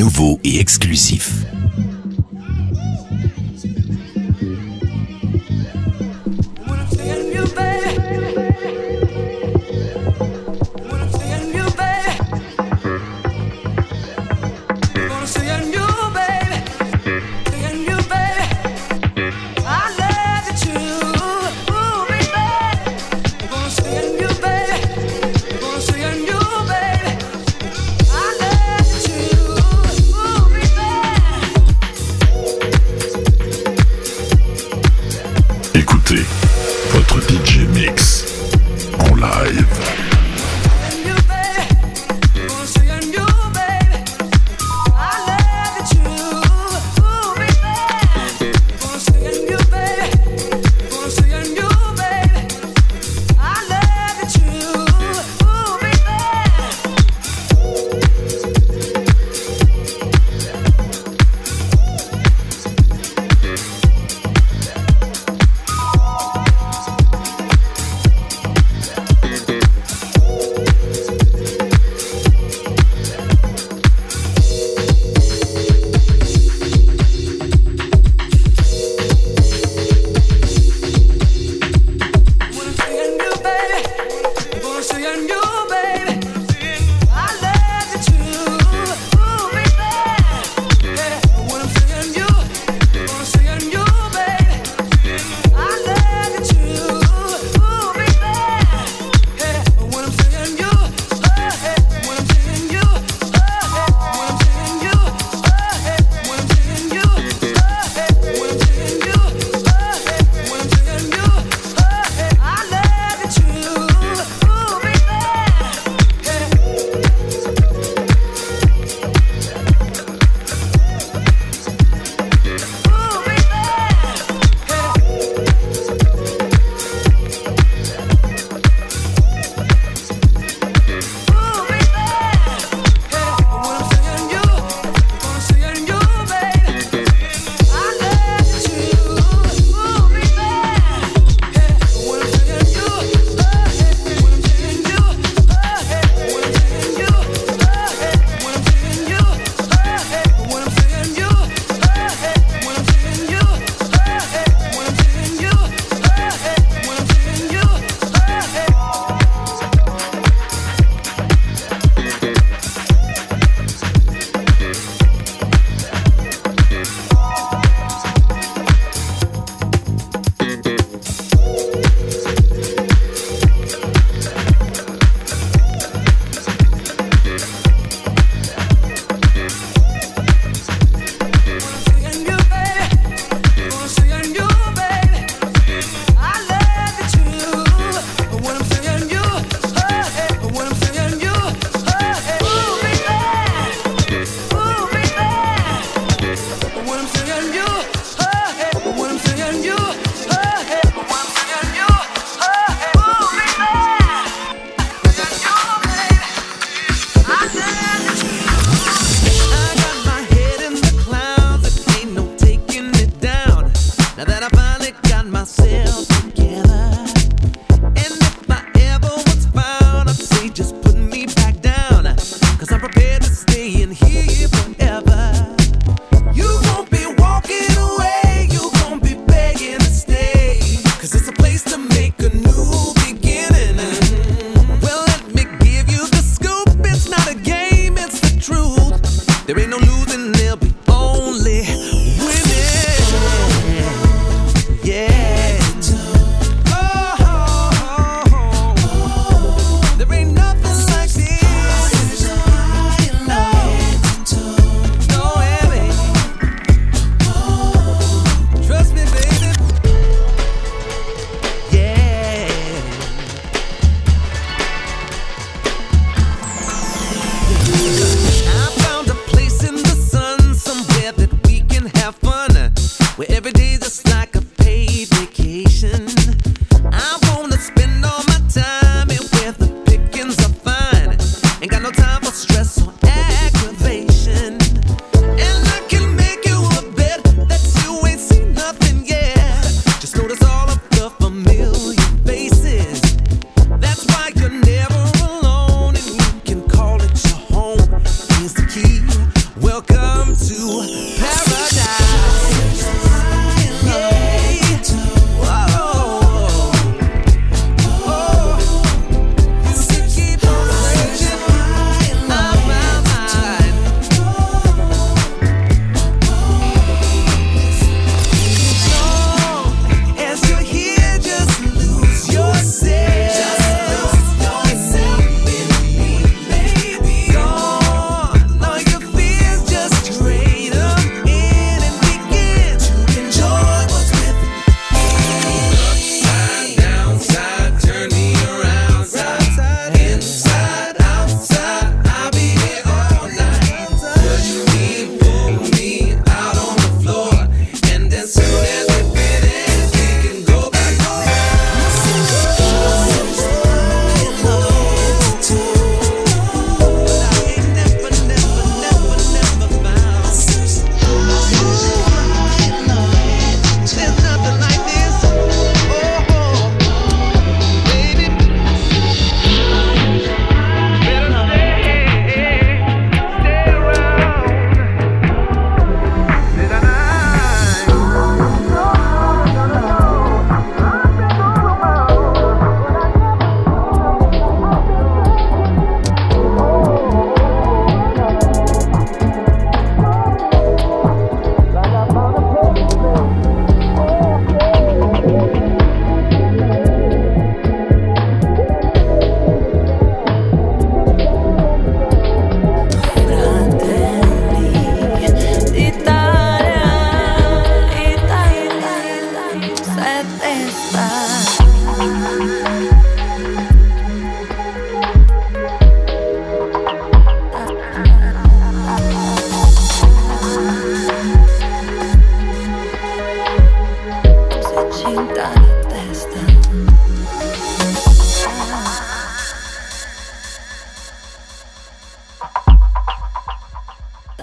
nouveau et exclusif. Votre DJ Mix en live.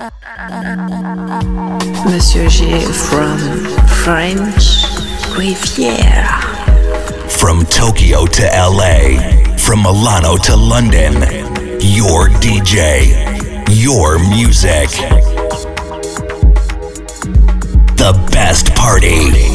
Monsieur G from French Riviera. From Tokyo to LA, from Milano to London, your DJ, your music. The best party.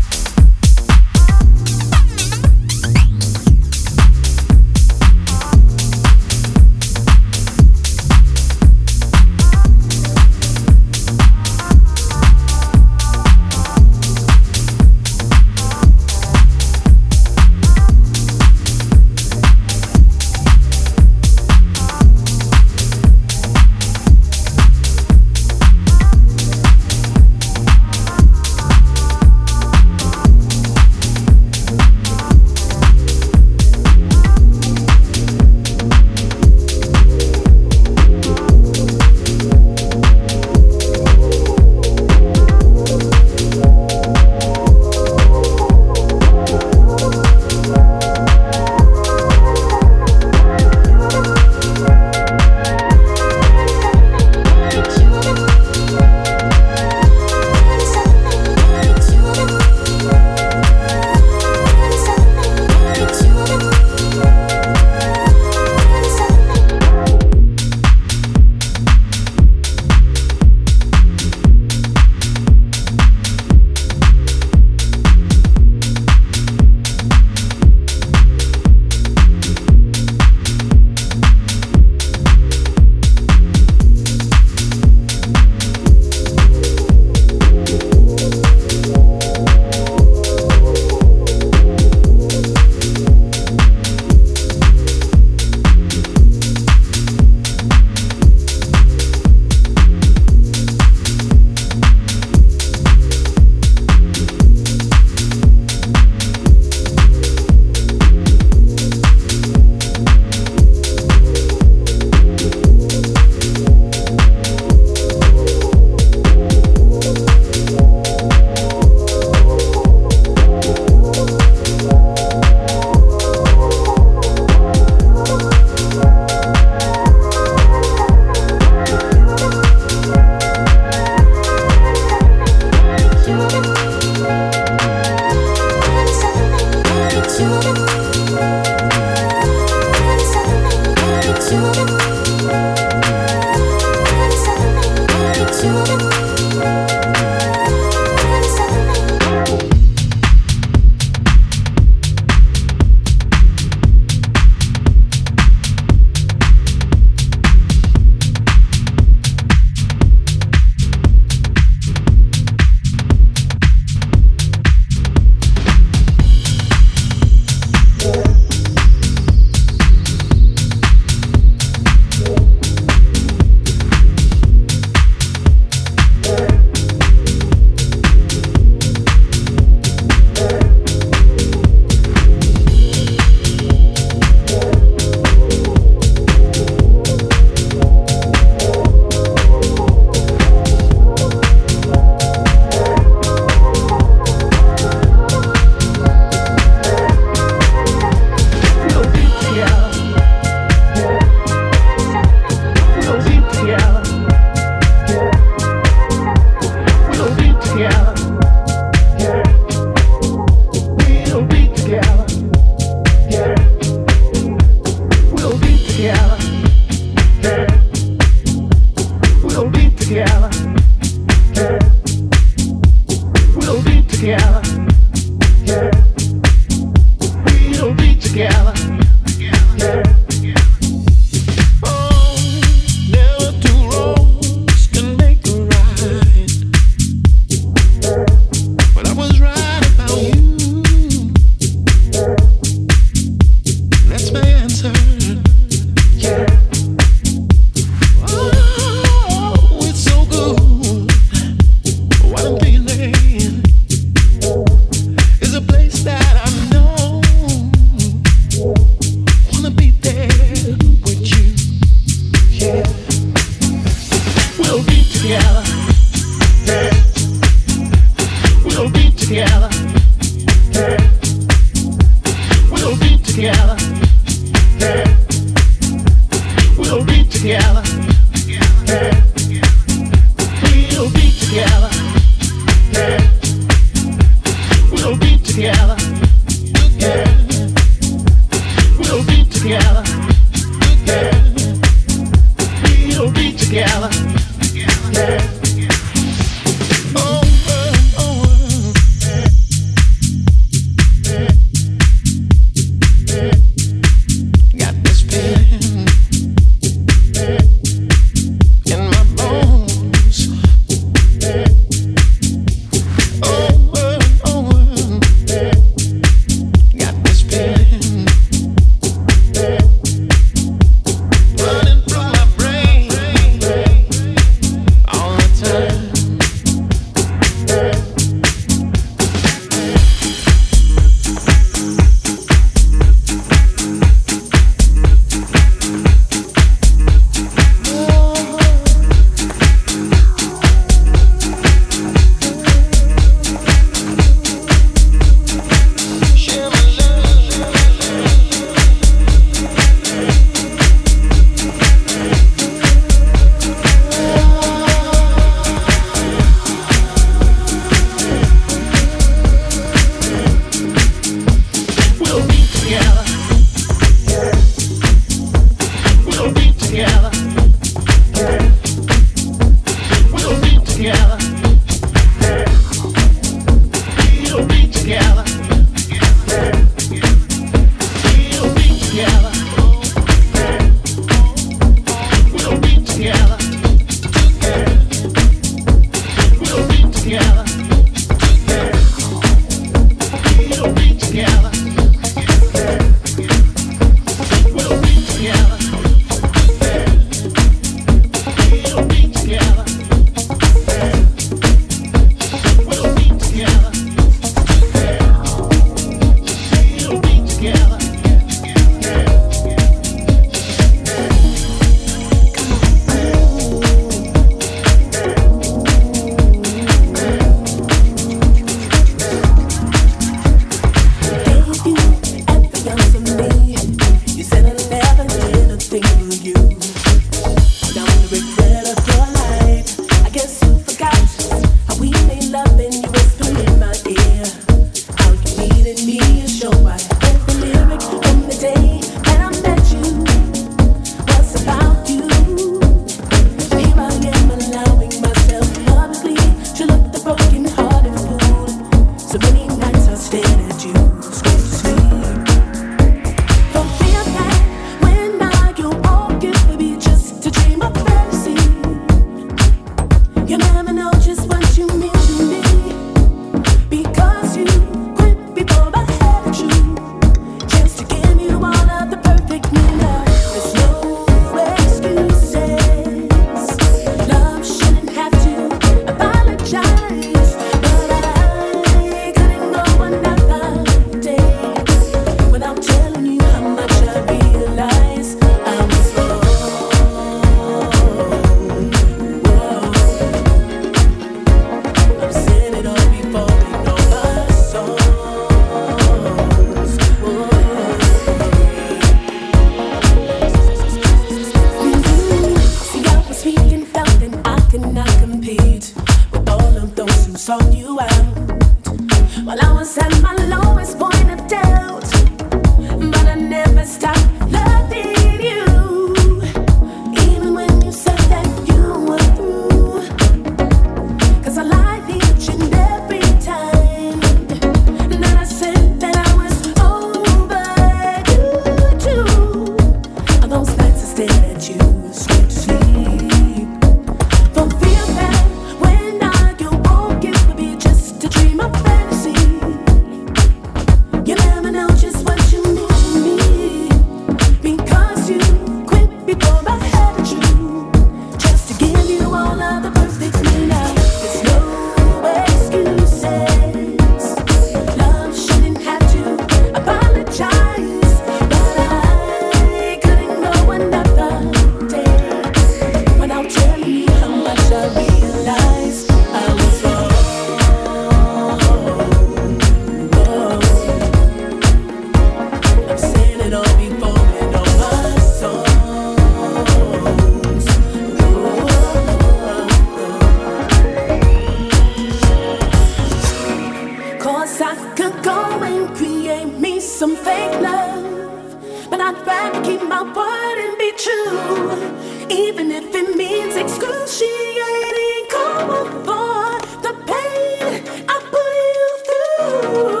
I'd rather keep my word and be true, even if it means excruciating. Come for the pain I put you through.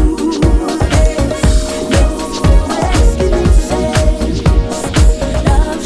Love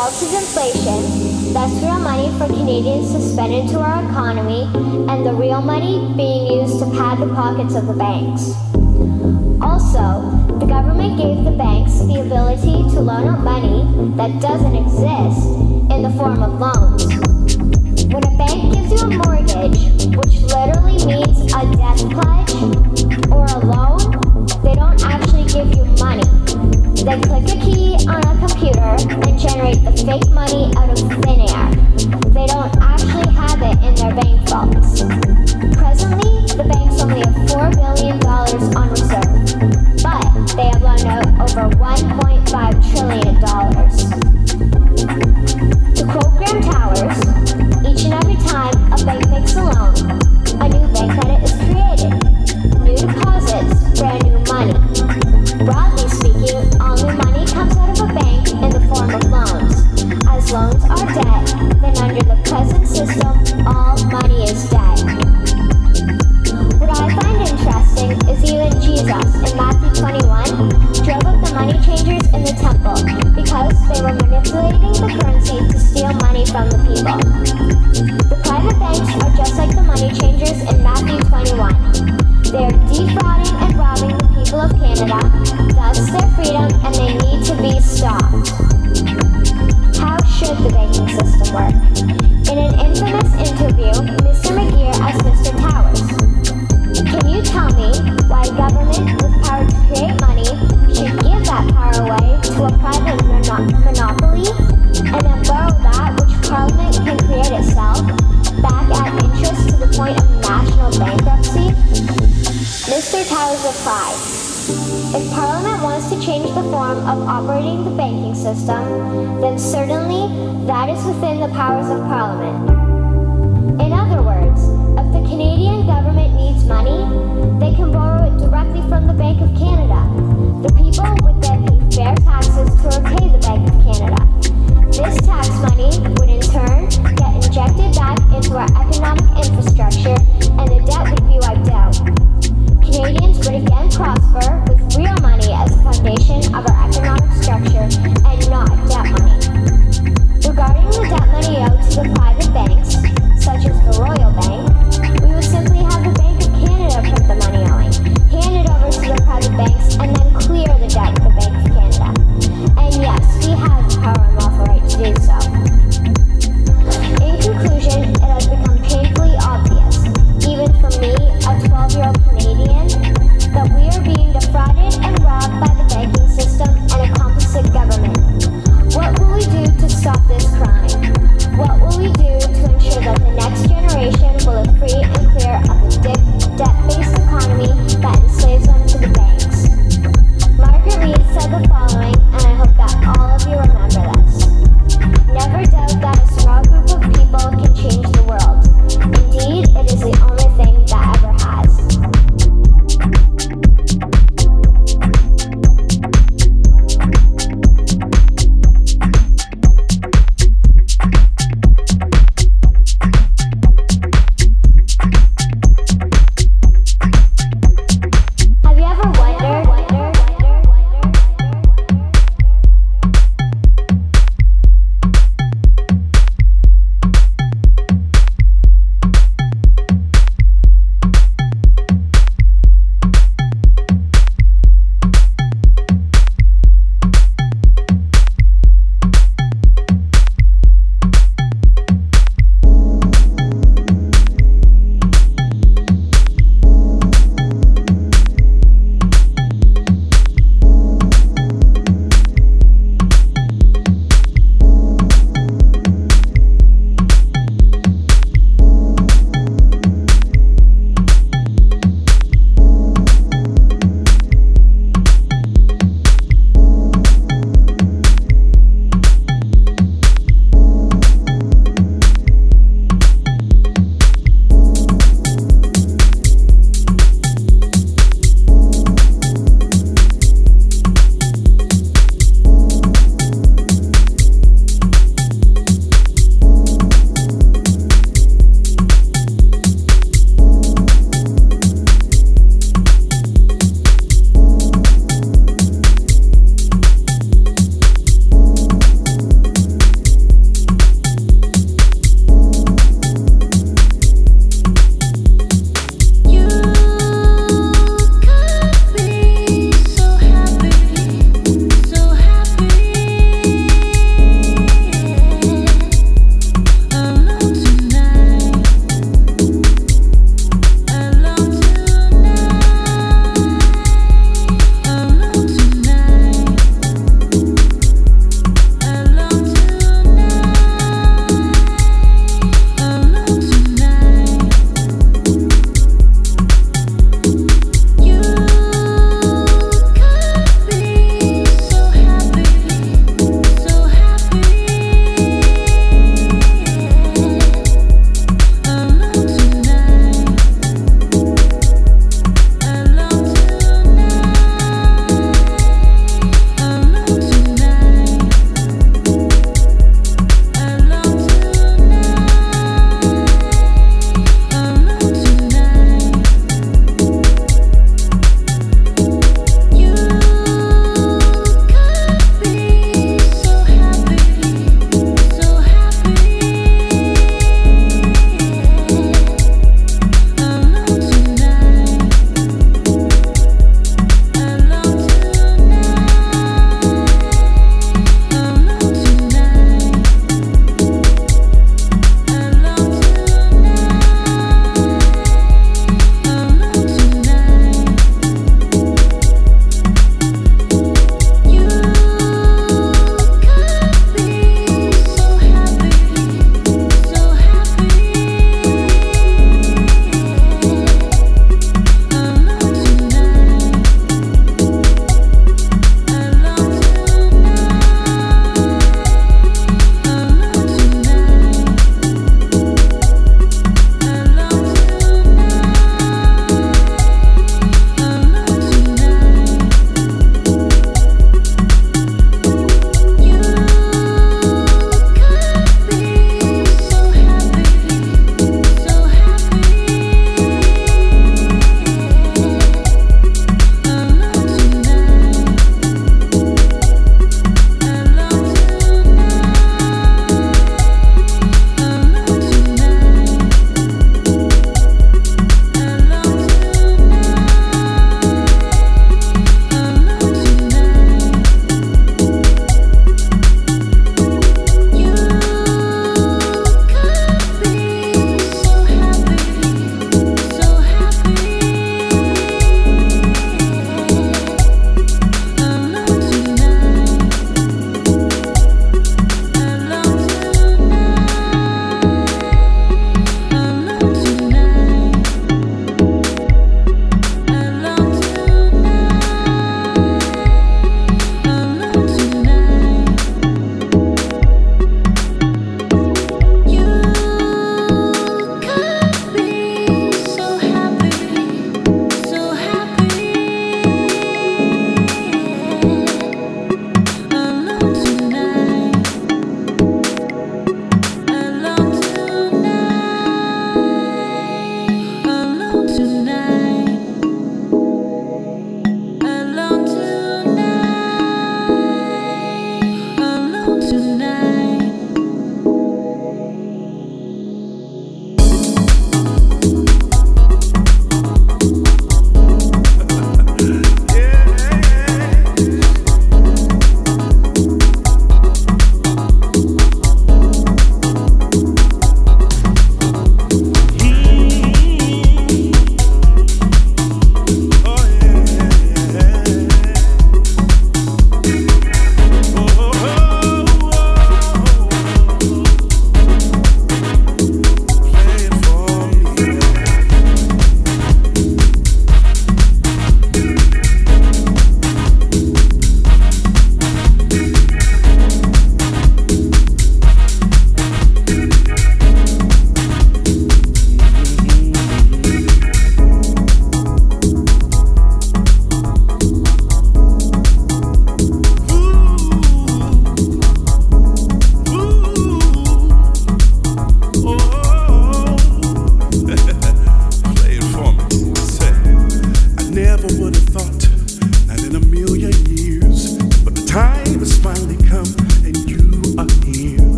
relative inflation, that's real money for Canadians to spend into our economy, and the real money being used to pad the pockets of the banks. Also, the government gave the banks the ability to loan out money that doesn't exist in the form of loans. When a bank gives you a mortgage, which literally means a death pledge, or a loan, they don't actually give you money. They click a key on a computer and generate the fake money out of thin air. They don't actually have it in their bank vaults. Presently, the banks only have $4 billion on reserve, but they have loaned out over $1.5 trillion. To quote Graham Towers, each and every time a bank makes a loan, a new bank credit is created. New deposits, brand new money. Broadly speaking, all new money comes out of a bank in the form of loans. As loans are debt, then under the present system, all money is debt. What I find interesting is even Jesus in Matthew 21 drove up the money changers in the temple because they were manipulating the currency to steal money from the people. The private banks are just like the money changers in Matthew 21. They are defrauding and robbing the people of Canada, thus their freedom, and they need to be stopped. How should the banking system work? In an infamous interview, Mr. McGeer asked Mr. Towers, "Can you tell me why a government with power to create money should give that power away to a private monopoly and then borrow that which Parliament can create itself back at interest to the point of national bankruptcy?" Mr. Towers replied, "If Parliament wants to change the form of operating the banking system, then certainly that is within the powers of Parliament. In other words, if the Canadian government needs money, they can borrow it directly from the Bank of Canada. The people would then pay fair taxes to repay the Bank of Canada. This tax money would in turn get injected back into our economic infrastructure and the debt would be wiped out. Canadians would again prosper with real money as the foundation of our economic structure and not debt money. Regarding the debt money out to the private banks, such as the Royal Bank,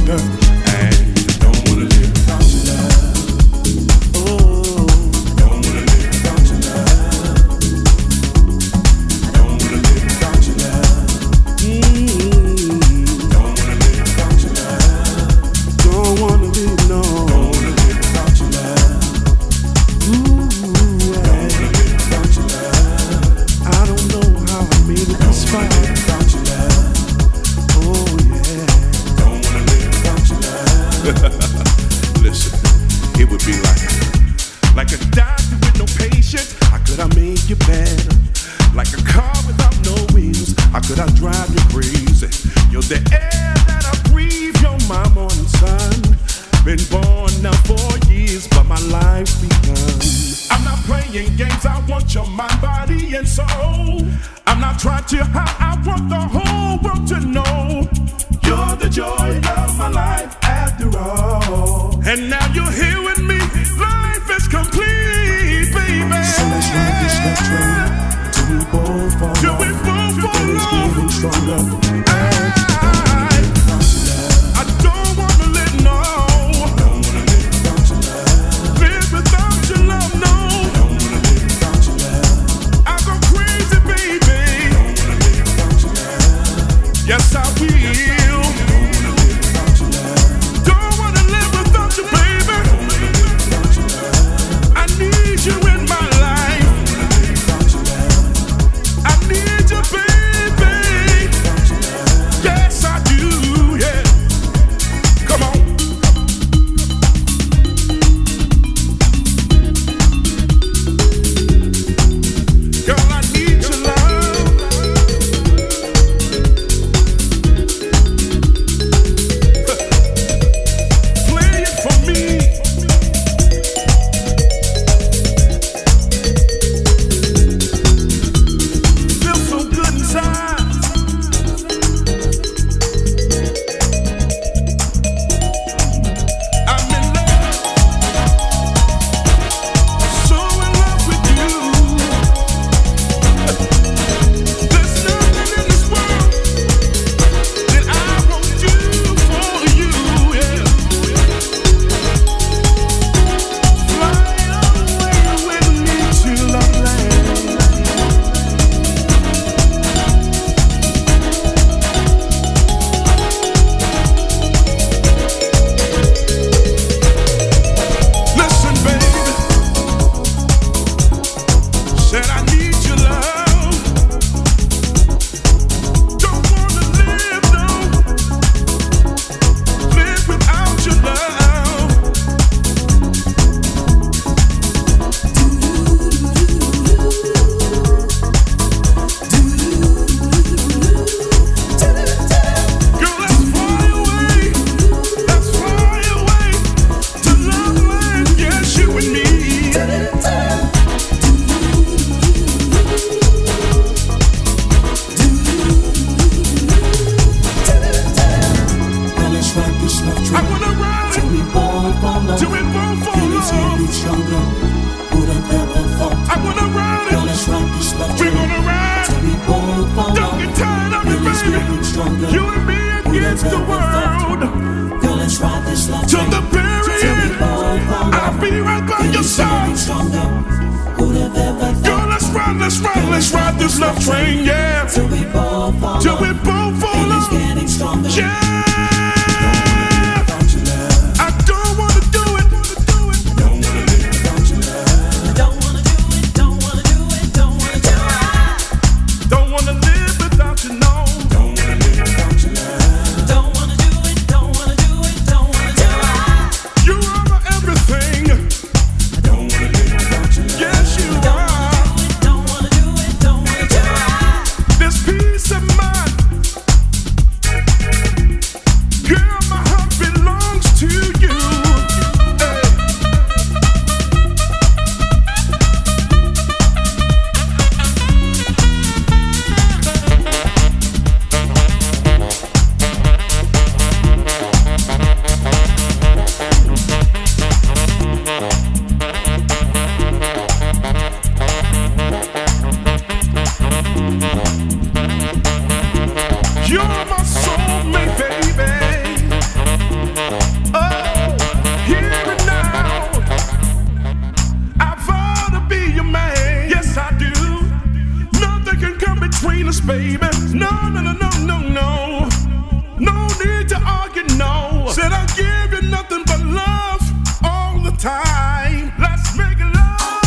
stronger. And don't wanna live without your love. Oh, don't wanna live without your love. Don't wanna live without your love. Don't wanna live without your love. Don't wanna live, no. Don't wanna live without your love. Ooh, yeah. Don't wanna live without your love. I don't know how I made it this far without your love. Oh yeah. Don't wanna live without your love. Listen, it would be like a doctor with no patient. How could I make you better? Like a car without no wheels. How could I drive you crazy? You're the air that I breathe. You're my morning sun. Been born now 4 years, but my life's begun. I'm not playing games. I want your mind, body, and soul. I'm not trying to hide. I want the whole world to know you're the joy of my life after all. And now you're here with me. Life is complete, baby. So let's ride this love train till we both fall off. Till we both fall off. Getting stronger. I don't wanna live, no. Don't wanna live without your love. Live without your love, no. Don't wanna live without your love. I go crazy, baby. Don't wanna live without your love. Yes, I will. Don't wanna live without your love. Don't wanna live without you, baby. Don't wanna live without your love. I need you in my life. Don't wanna live without your love. I need you, baby. Without your love. Yes, I do. Yeah. Come on. Girl, I need your love. Play it for me. Feel so good inside. I'm in love, so in love with you. There's nothing in this world that I won't do for you. Yeah. Fly away with me to Loveland. Listen, baby, said I need your love. Don't wanna live, no. Live without your love. Girl, let's fly away. Let's fly away to Loveland. Yes, you and me. Well, let's ride this love I train wanna ride till we both fall off. till we both fall Feelings off. getting stronger. Who'd have ever thought? I wanna ride Well, it. let's ride this love We're train gonna ride. till we both fall Don't off. get tired of it, Feelings baby. getting stronger. You and me against the world. Girl, let's ride this love Till train the very till we end. both fall I'll off. be right by your Feelings getting side. stronger. Who'd have ever Girl, thought? let's ride this love train, yeah. Till we both fall Till we off. both fall Feelings off. getting stronger. Yeah. Without your love. I don't wanna do it. Don't wanna live without your love. Don't wanna do it, don't wanna do it, don't wanna do it. Don't wanna live without you, no. Don't wanna live without your love. Don't wanna do it, don't wanna do it, don't wanna do it. You are my everything. Don't wanna live without your love. Yes, you are. Don't wanna do it, don't wanna do it. This peace of mind baby. No, no, no, no, no, no. No need to argue, no. Said I'll give you nothing but love all the time. Let's make love.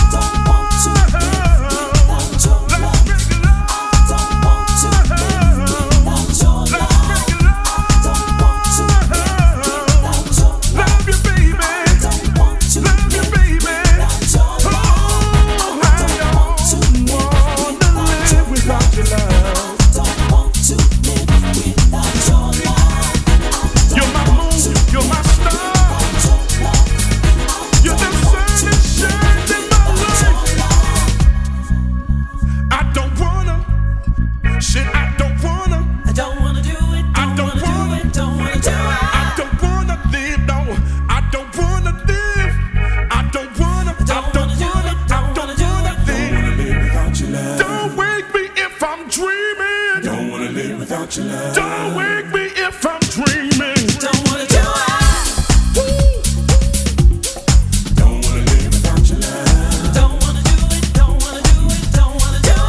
Don't wake me if I'm dreaming. Don't wanna do it. Don't wanna live without your love. Don't wanna do it. Don't wanna do it. Don't wanna do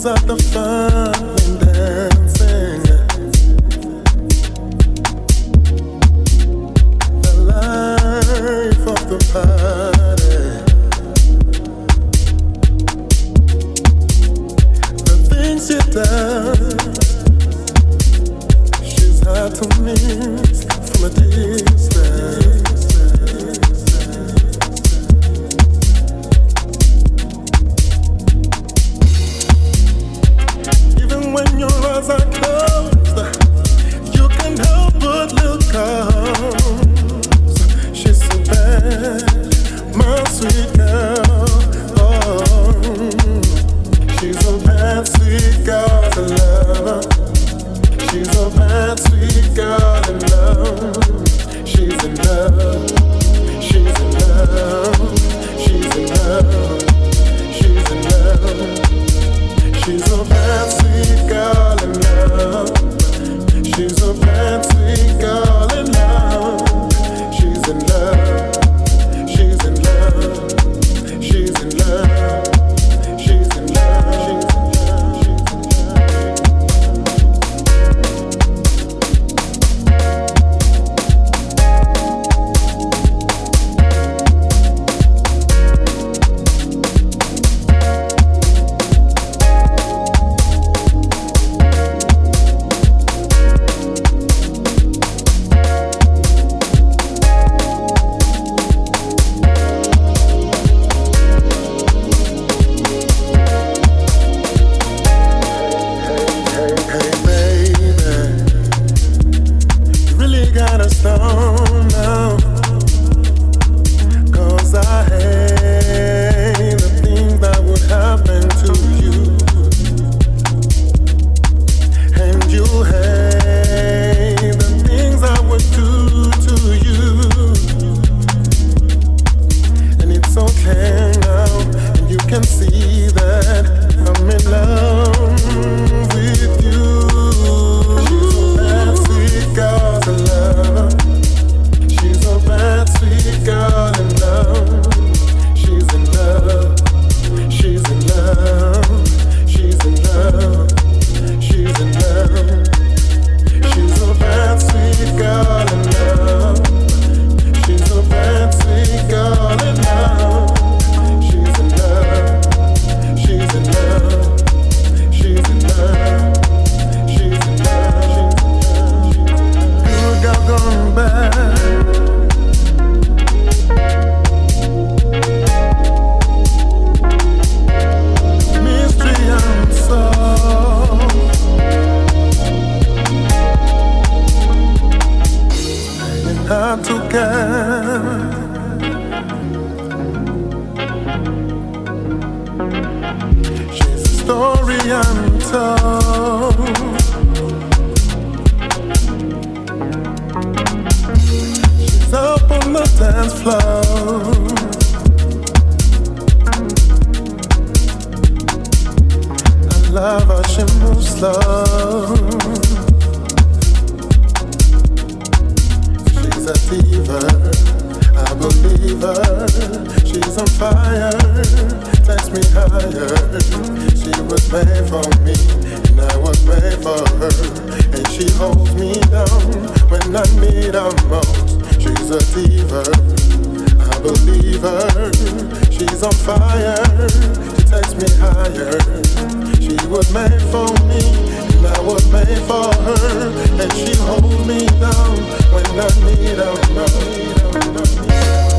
brings out the fun in dancing. The life of the party. The things she does, she's hard to miss from a distance. When your eyes are closed, you can help but look close. She's so bad, my sweet girl. Oh, she's a bad, sweet girl to love. She's a bad, sweet girl in love. She's in love. She's in love. She's in love. She's in love. She's a bad, sweet girl in love. She's a bad, sweet girl in love. She's in love. She's in love. She's in love. She's in love. She's in love. And she holds me down when I need her most.